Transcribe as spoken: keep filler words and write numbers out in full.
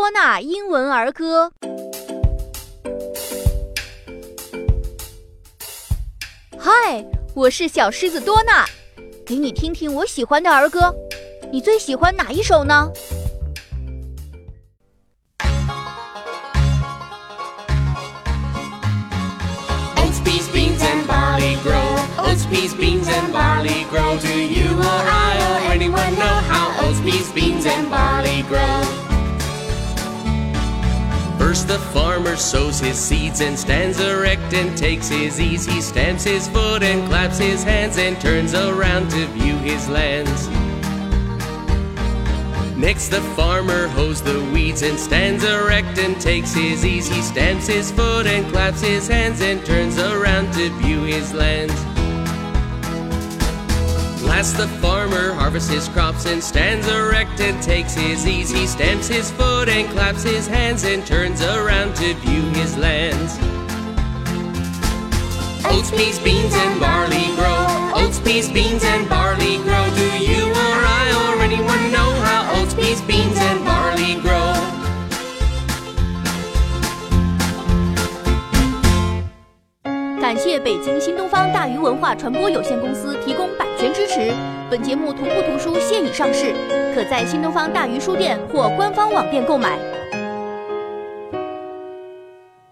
多纳英文儿歌。嗨，我是小狮子多纳，给你听听我喜欢的儿歌。你最喜欢哪一首呢？ Oats, peas, beans, and barley grow. Oats, peas, beans, and barley grow. Do you or I or anyone know how oats, peas, beans, and barley grow? First the farmer sows his seeds and stands erect and takes his ease. He stamps his foot and claps his hands and turns around to view his lands. Next the farmer hoes the weeds and stands erect and takes his ease. He stamps his foot and claps his hands and turns around to view his lands. Last the farmer harvests his crops and stands erect and takes his ease. He stamps his foot and claps his hands and turns around to view his lands. Oats, peas, beans, and barley grow. Oats, peas, beans, and barley grow. Do you or I or anyone know how oats, peas, beans, and barley grow? 感谢北京新东方大鱼文化传播有限公司提供版权支持。本节目同步图书现已上市，可在新东方大鱼书店或官方网店购买。